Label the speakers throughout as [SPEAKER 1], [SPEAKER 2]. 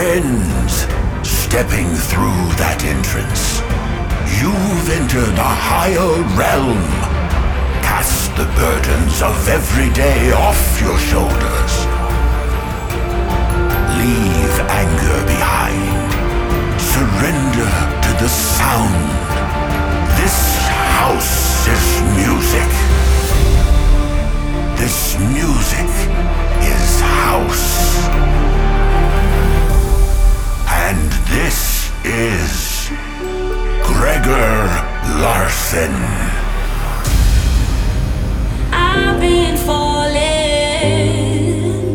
[SPEAKER 1] Friends, stepping through that entrance, you've entered a higher realm. Cast the burdens of every day off your shoulders. Leave anger behind. Surrender to the sound. This house is music. This music is house. And this is Gregor Larson.
[SPEAKER 2] I've been falling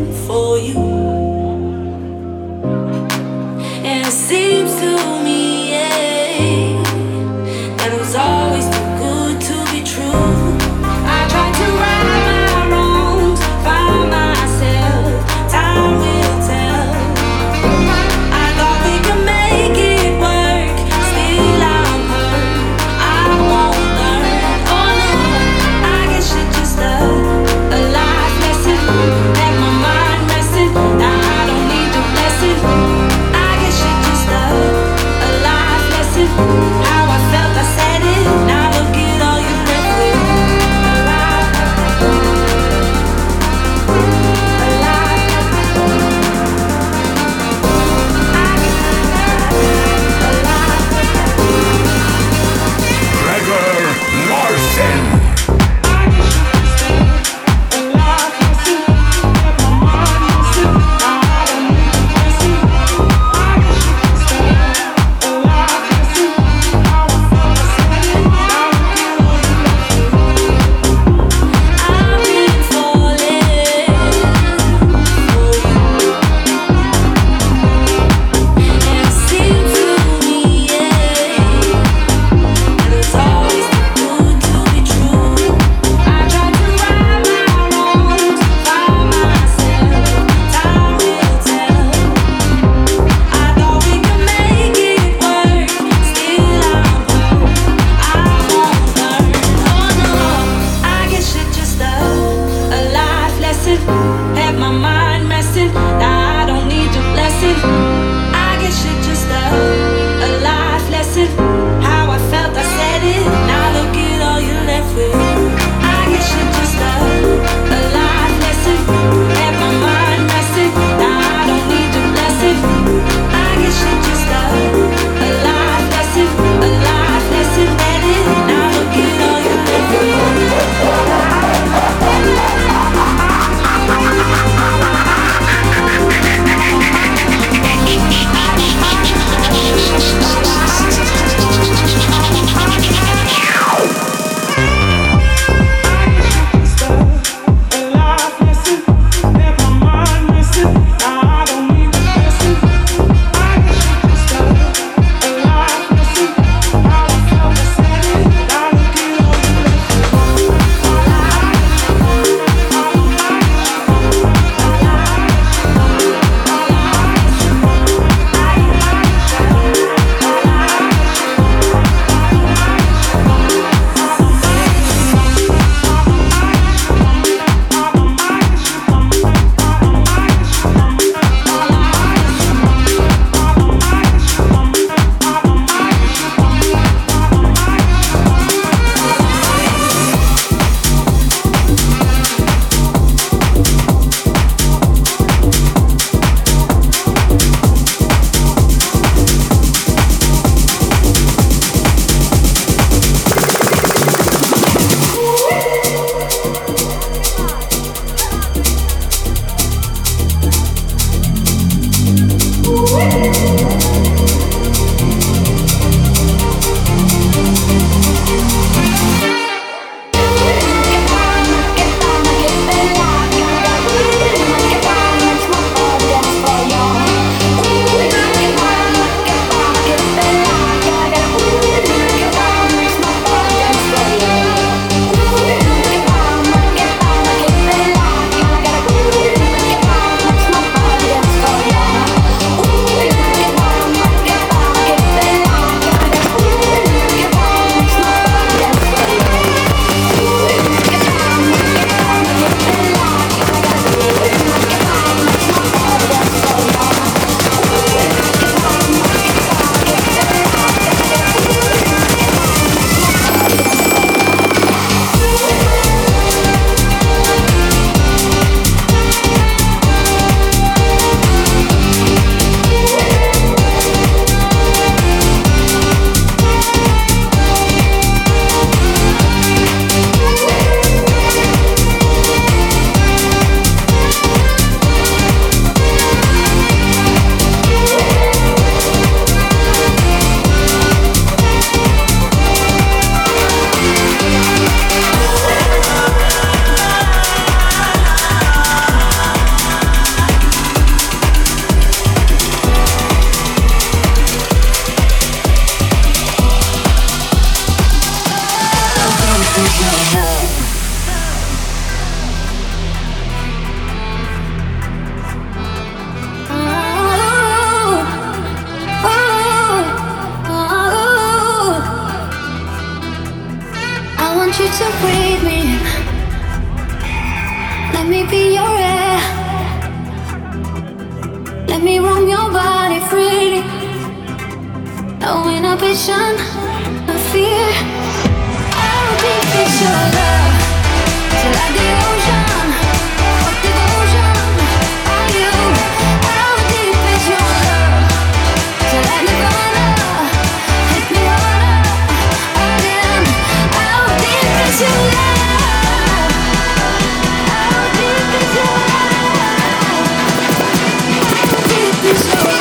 [SPEAKER 2] No inhibition, no fear. How deep is your love? Till like the ocean, what devotion are you? How deep is your love? Till like Nirvana, hit me harder again. How deep is your love? How deep is your love? How deep is your love?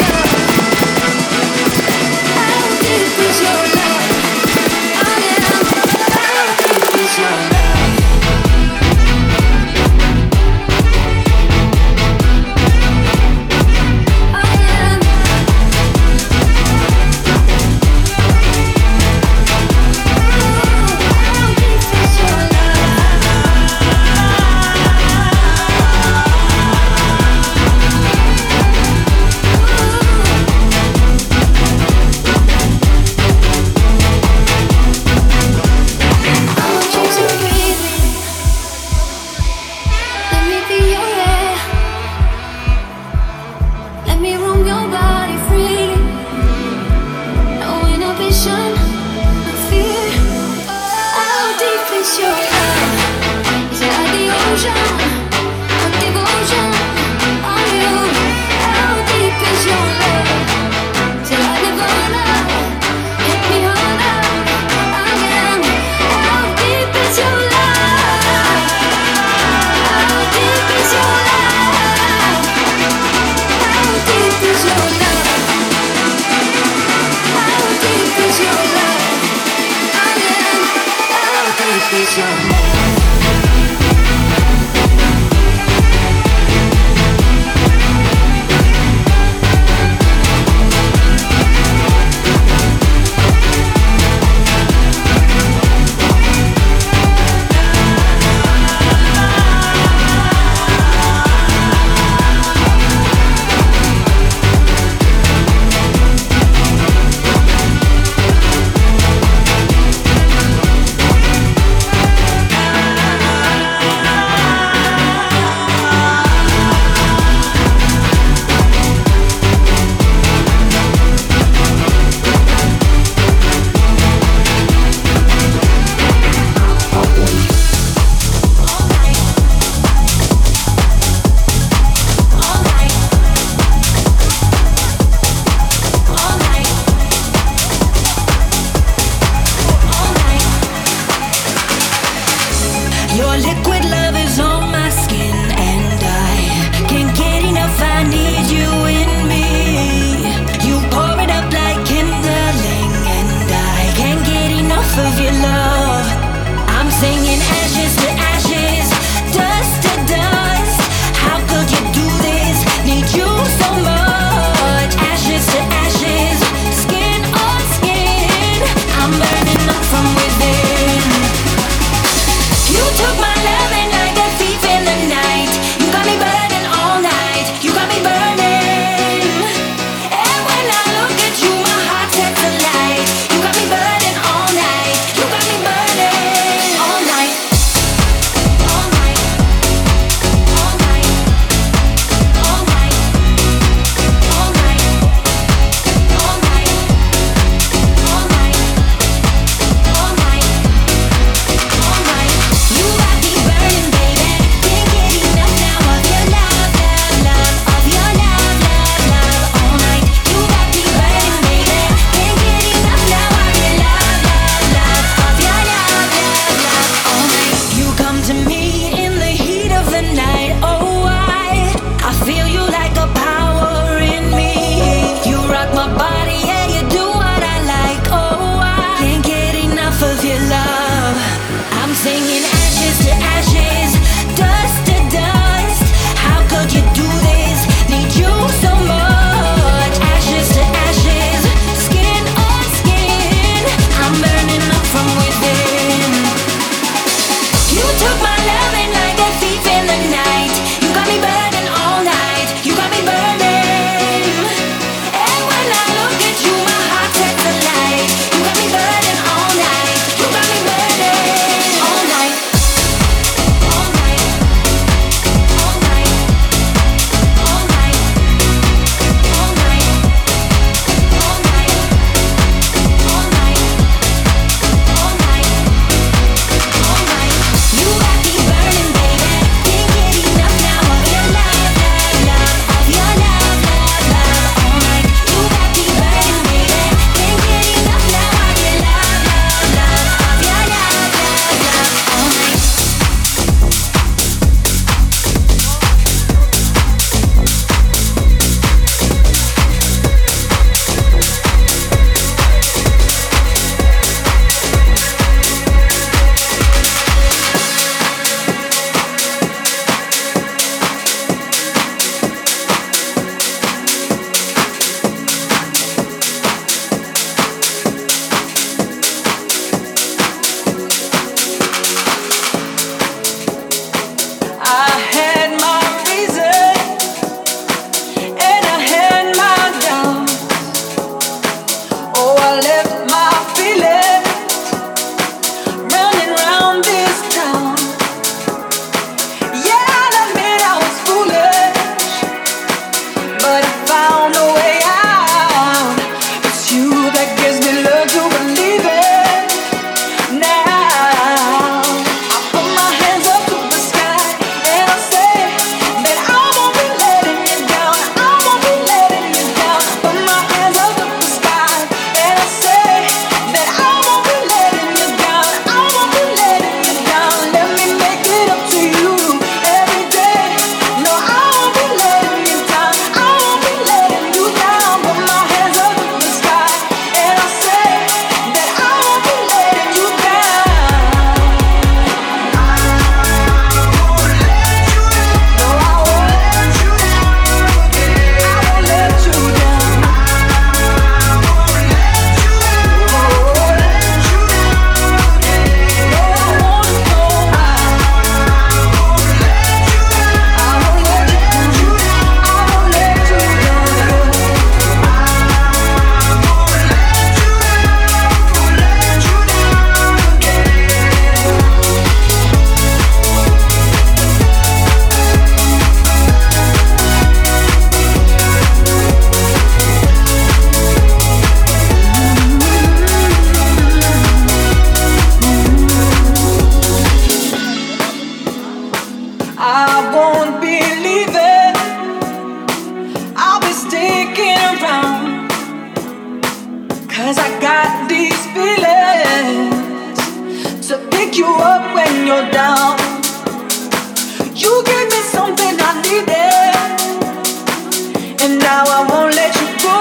[SPEAKER 3] now I won't let you go.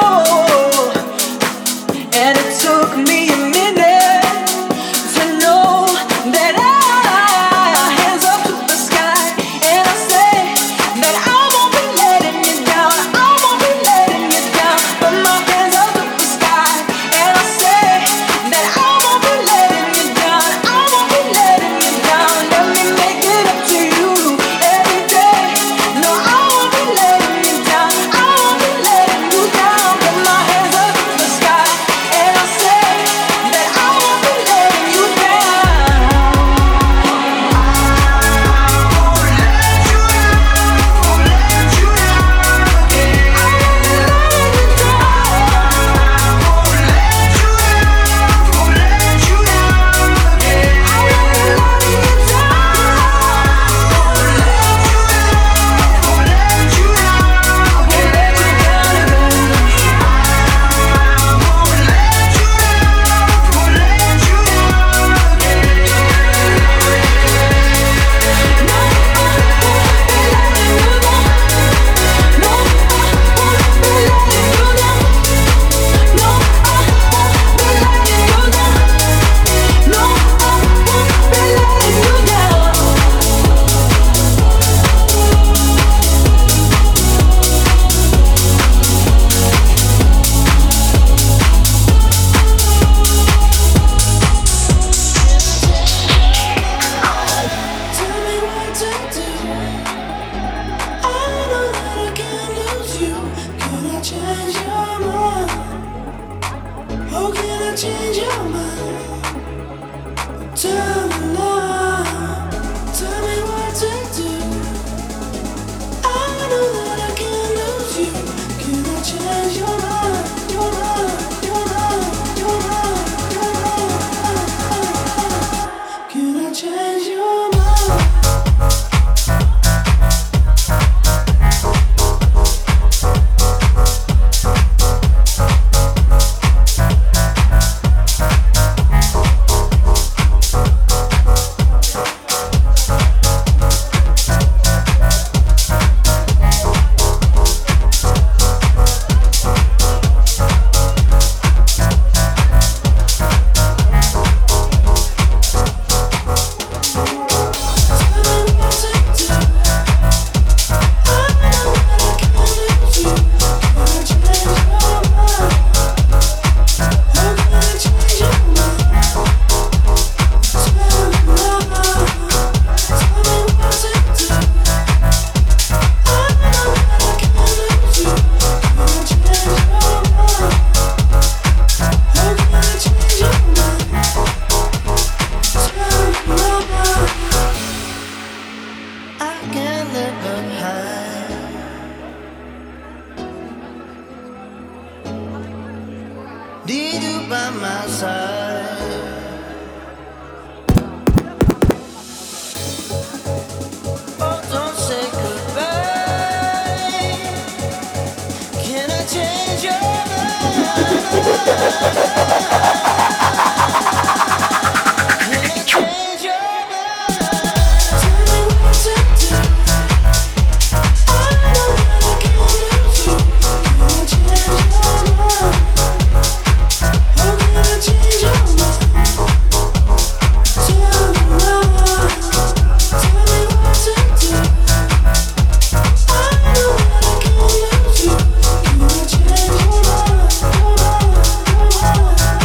[SPEAKER 3] And it took me a minute to know that hands up to the sky, and I say that I won't be letting you down, I won't be letting you down. Put my hands up to the sky, and I say that I won't be letting you down, I won't be letting you down. Let me make it up to you every day. No, I won't be letting you down, I won't be letting you down. Put my hands up to the sky, and I say that I won't be letting you down. Change your mind. Tell me now. Tell me what to do. I know that I can't lose you. Can I change your mind? Your mind, your mind, your mind, your mind. Can I change your mind? Need you by my side. Oh, don't say goodbye. Can I change your mind? Can I change your mind? Tell me what to do. I know that I can't lose you. Can I change your mind? Change your mind. Tell me now. Tell me what to do. I know that I can't lose you. Can I change your mind? Your mind, your mind.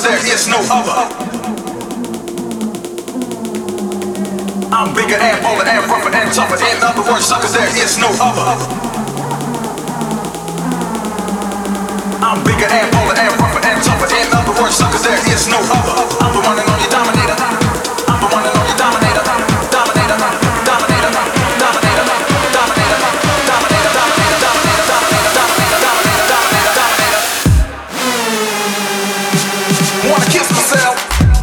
[SPEAKER 4] cause there is no other. I'm bigger and bolder and rougher and tougher. In other words, suckers, there is no other. I'm bigger and bolder and rougher and tougher. In other words, suckers, there is no other. I'm the one and only dominator. I'm the one and only dominator. Dominator, dominator, dominator, dominator, dominator, dominator, dominator, dominator, dominator, dominator. Wanna kiss myself?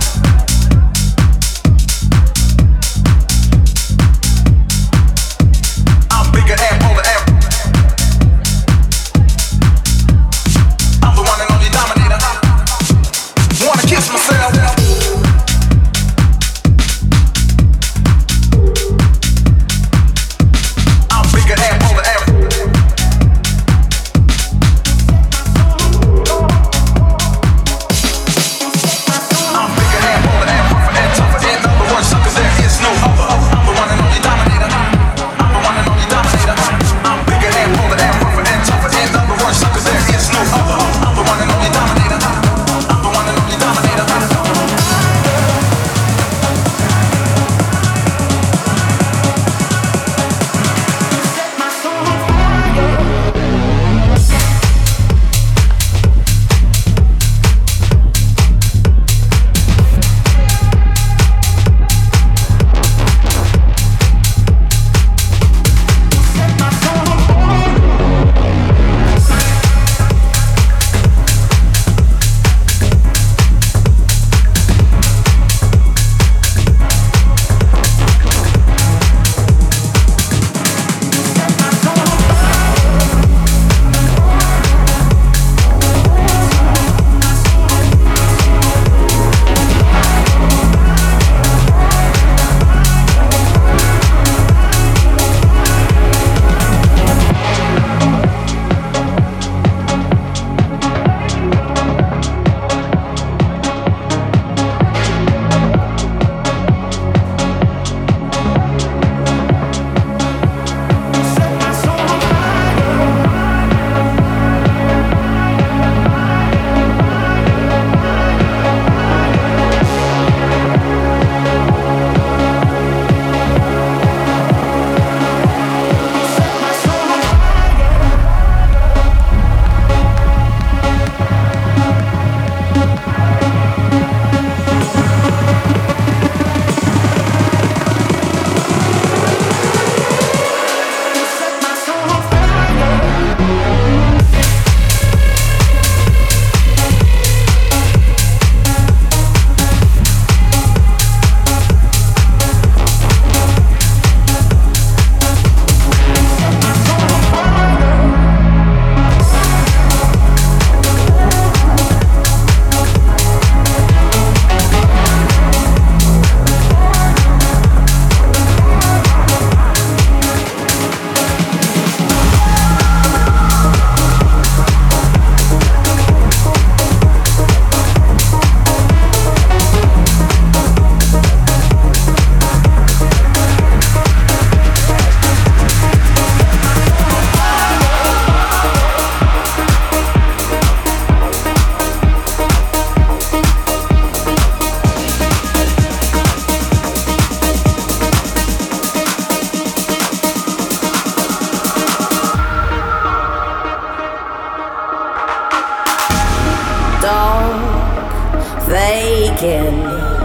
[SPEAKER 5] faking.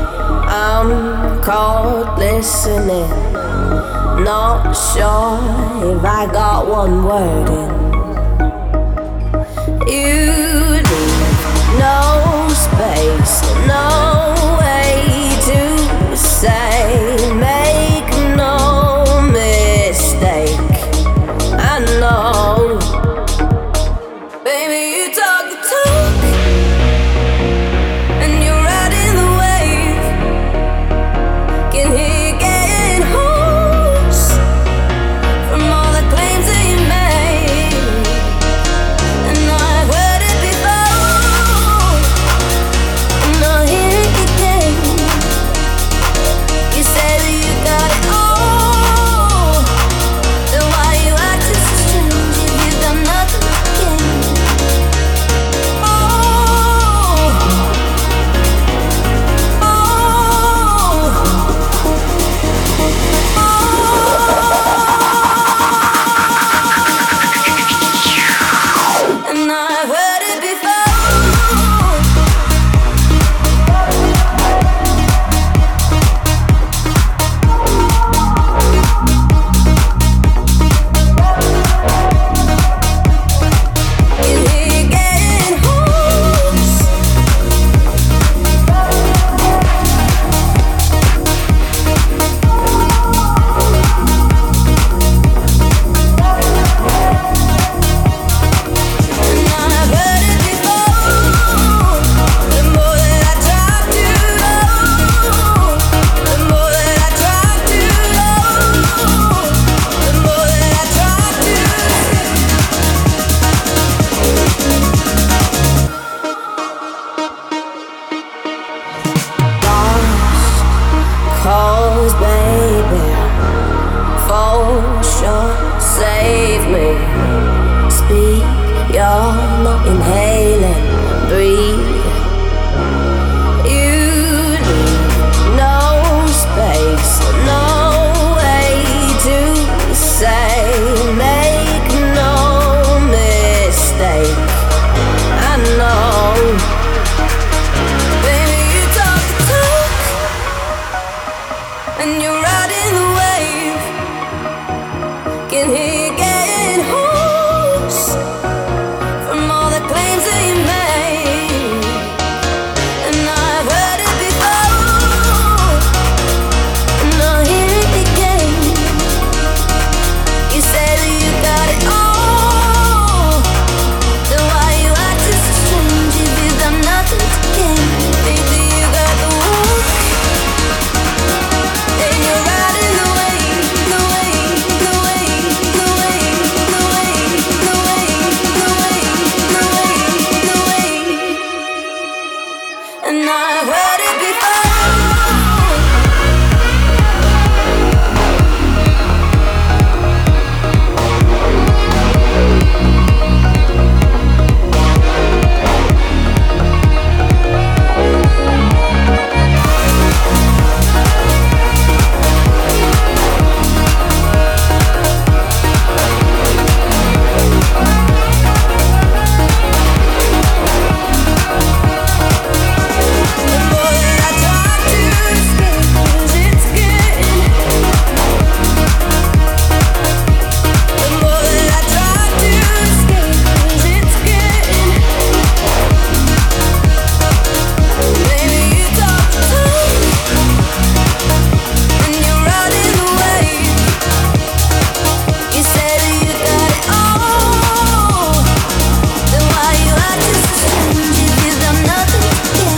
[SPEAKER 5] I'm caught listening, not sure if I got one word in. You leave no space, no way to say, make no mistake. I know, baby, you talk the talk, and you're riding the wave. Can hear you getting hoarse from all the claims that you made, and I've heard it before. I'm not here pose, baby. For sure, save me. Speak, you're not inhaling. Breathe. You need no space, no way to say. Make no mistake. I know. Baby, you talk the talk, and you're riding the wave. Can hear you getting hoarse from all the claims that you made. And I've heard it before, and I'll hear it again. You say that you got it all, then why you acting so strange if you got nothing to gain? Baby, you got the walk, and you're riding the wave, the wave, the wave, the wave, the wave, the wave, the wave, the wave, the wave. And I've heard it before. The more that I try to escape, 'cause it's getting. The more that I try to escape, 'cause it's getting. Baby, you talk the talk, and you're riding the wave. You say that you got it all, then why you acting so strange if you got nothing to gain?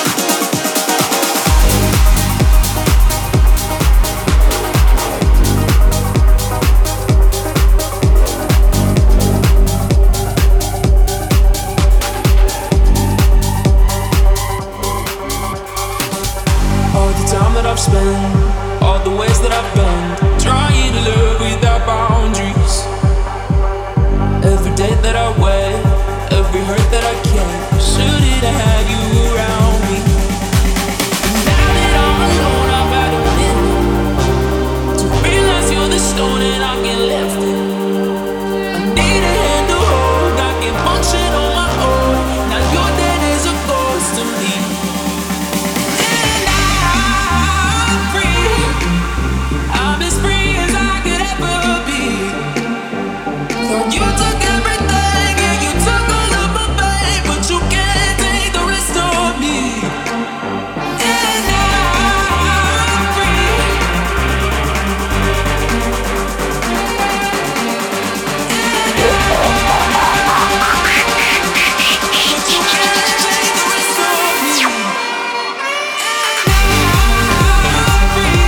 [SPEAKER 6] All the time that I've spent, all the ways that I've been, trying to live without boundaries. Every day that I wait, every hurt that I care, shouldn't have had you around me. And now that I'm alone, I've had a minute to realize you're the stone and I can lift it. I need a hand to hold, I can function on my own. Now you're dead as a ghost to me. And I'm free. I'm as free as I could ever be. Thought you took everything and you took all of my pain, but you can't take the rest of me. And I'm free. But you can't take the rest of me. And I'm free.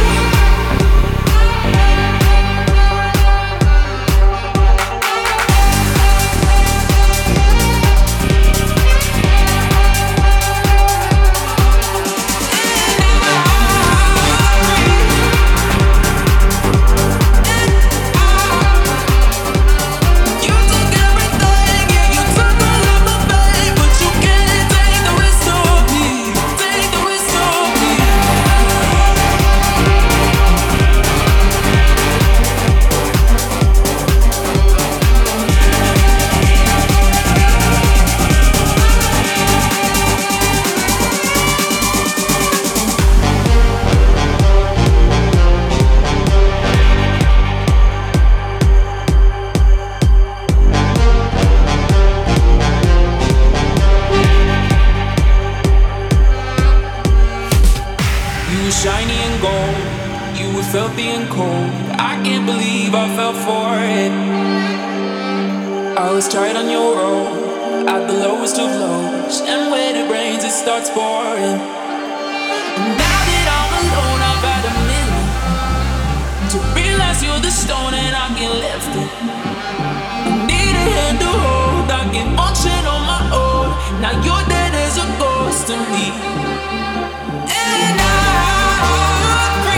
[SPEAKER 6] You took everything and you took all of my pain, but you can't take the rest of me. Take the rest of me. You were shiny and gold, you were filthy and cold. I can't believe I fell for it. I was tight on your road, at the lowest of lows, and when it rains it starts pouring. And now that I'm alone, I've had a minute to realize you're the stone and I can lift it. I need a hand to hold, I can function on my own. Now you're dead as a ghost to me. And I'm free.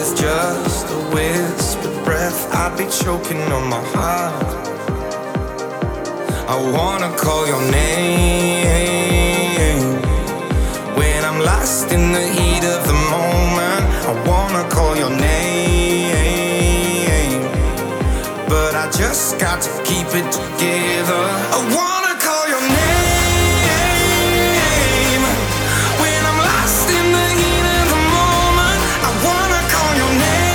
[SPEAKER 7] just a whispered breath, I'd be choking on my heart. I wanna call your name when I'm lost in the heat of the moment. I wanna call your name, but I just got to keep it together. I wanna call your name when I'm lost in the heat of the moment. I wanna call your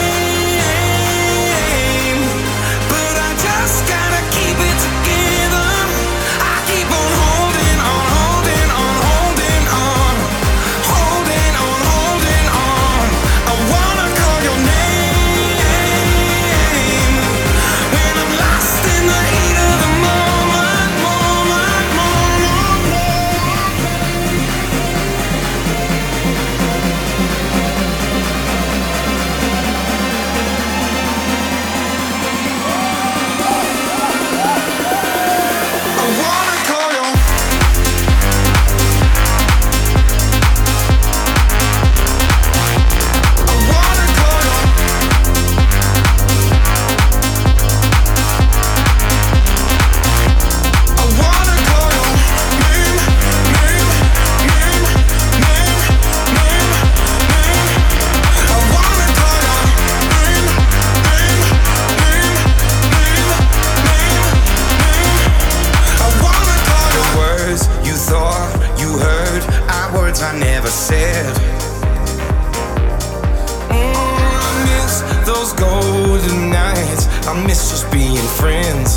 [SPEAKER 7] name, but I just gotta keep it together. I keep on holding on, holding on, holding on, holding on, holding on. I wanna call your name when I'm lost in the heat of the moment, moment, moment. I wanna call your I wanna call your I wanna call your name, name, name, name, name, name. I wanna call your name, name, name, name, name, name. I wanna call your words you thought you heard, are words I never said. I miss those golden nights. I miss just being friends.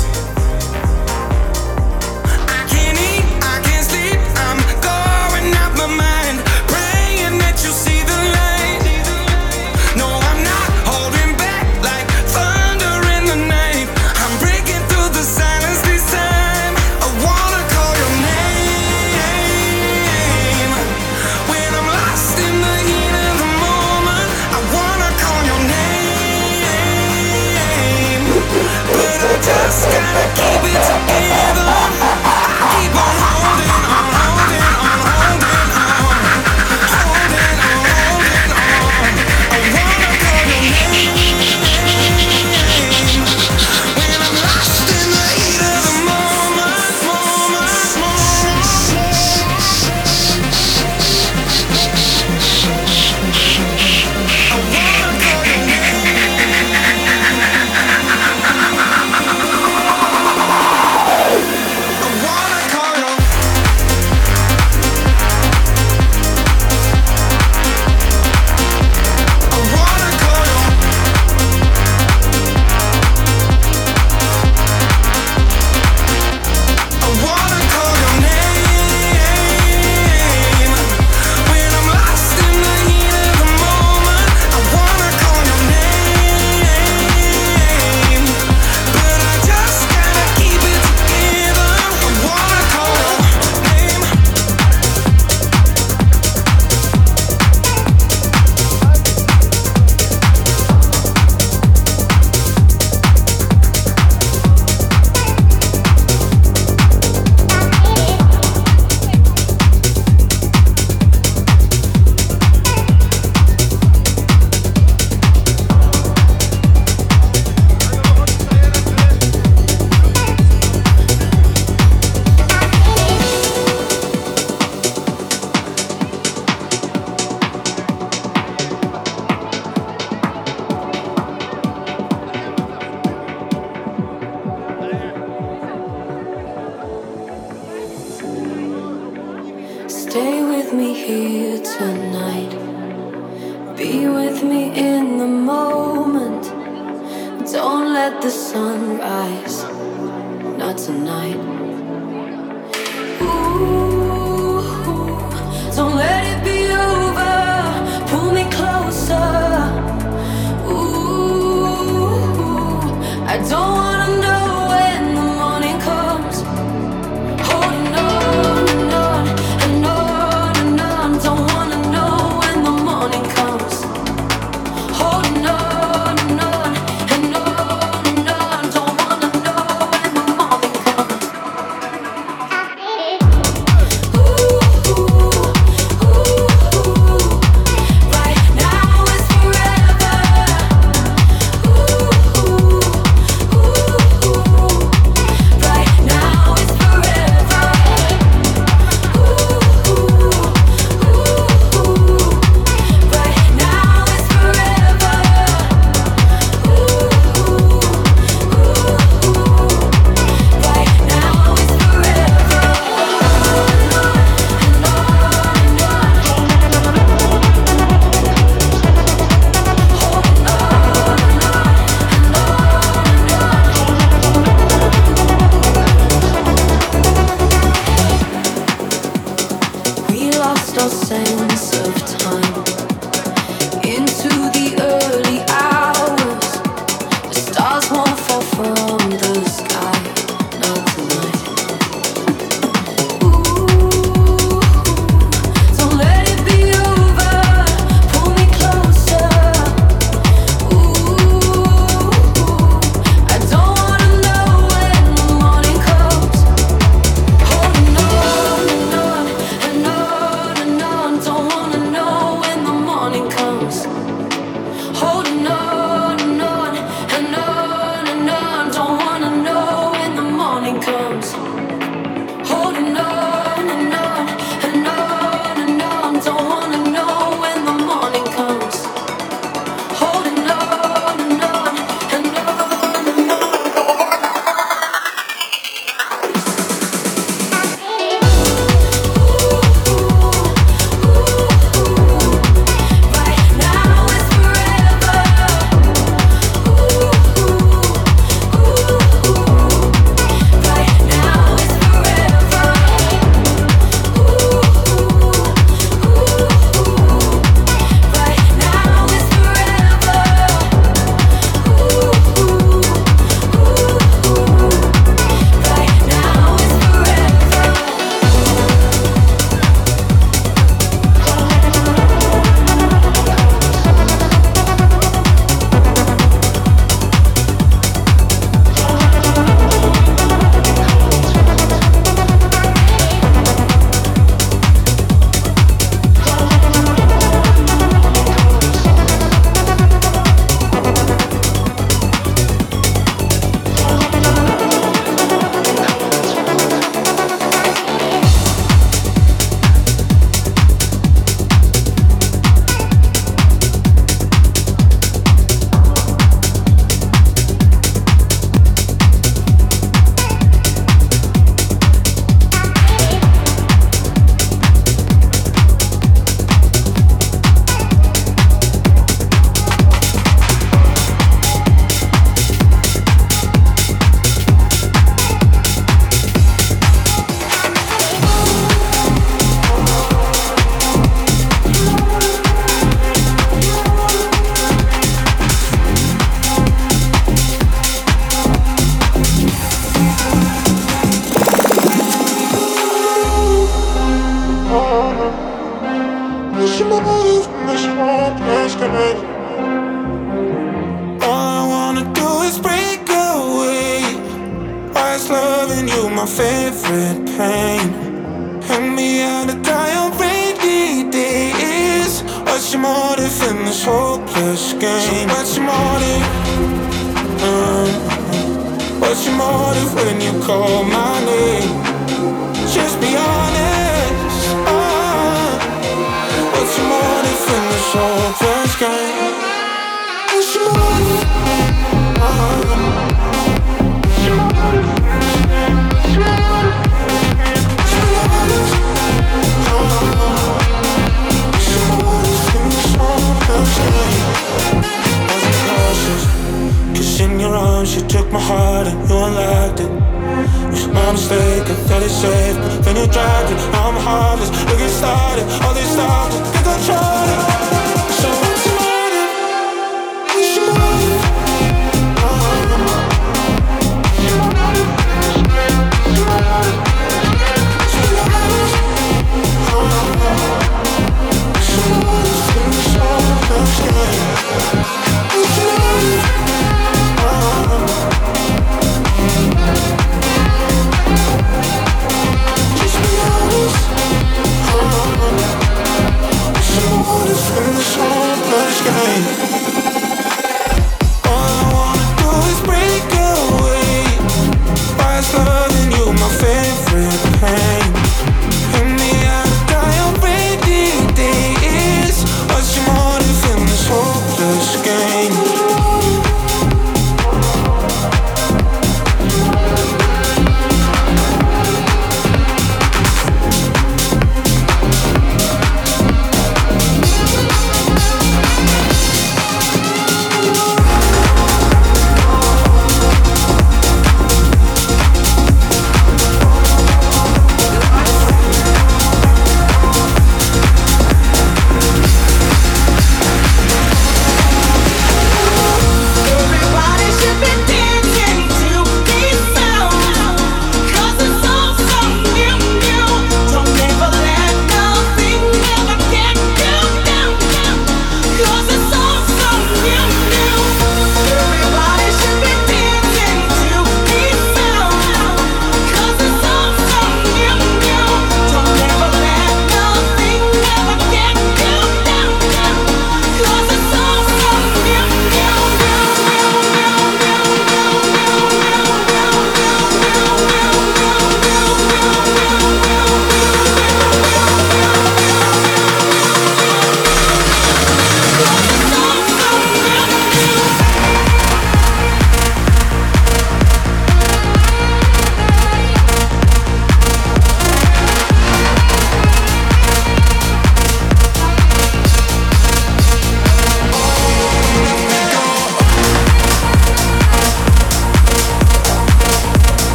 [SPEAKER 7] I can't eat, I can't sleep. I'm going out my mind, praying that you see the light. No, I'm not holding back like thunder in the night. I'm breaking through the silence this time. I wanna call your name when I'm lost in the heat of the moment. I wanna call your name, but I just gotta keep it together. I keep on holding on, holding on, holding on, holding on, holding on. I wanna call your name when I'm lost in the heat of the moment, moment, moment. I wanna call your I wanna call your I wanna call your I wanna call your name when I'm lost in the heat of the moment. I wanna call your name, but I just gotta keep it together. I wanna call your name.
[SPEAKER 2] Stay with me here tonight. Be with me in the moment. Don't let the sun rise. Not tonight. Ooh, don't let it be over. Pull me closer. Ooh, I don't wanna know when the morning comes. Holding on and on and on and on. Don't wanna know when the morning comes. Holding on and on and on and on. Don't wanna know when the morning comes.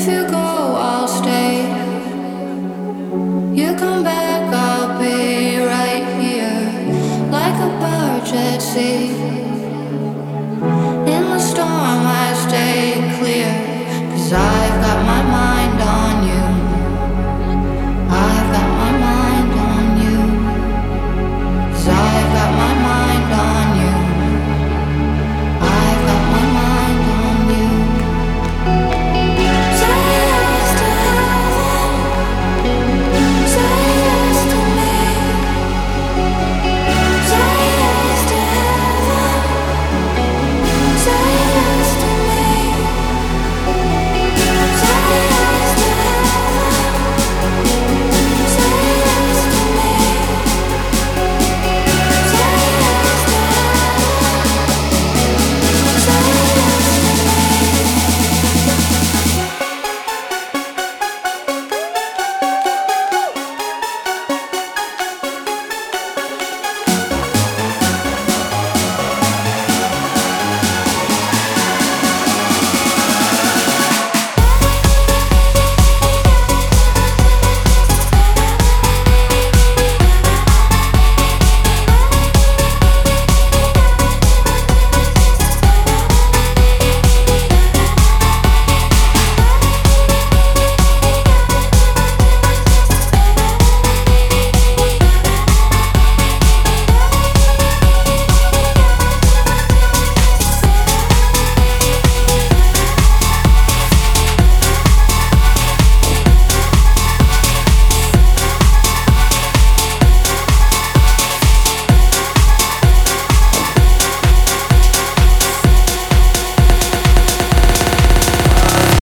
[SPEAKER 2] If you go, I'll stay. You come back, I'll be right here, like a barge at sea. In the storm, I stay clear, 'cause I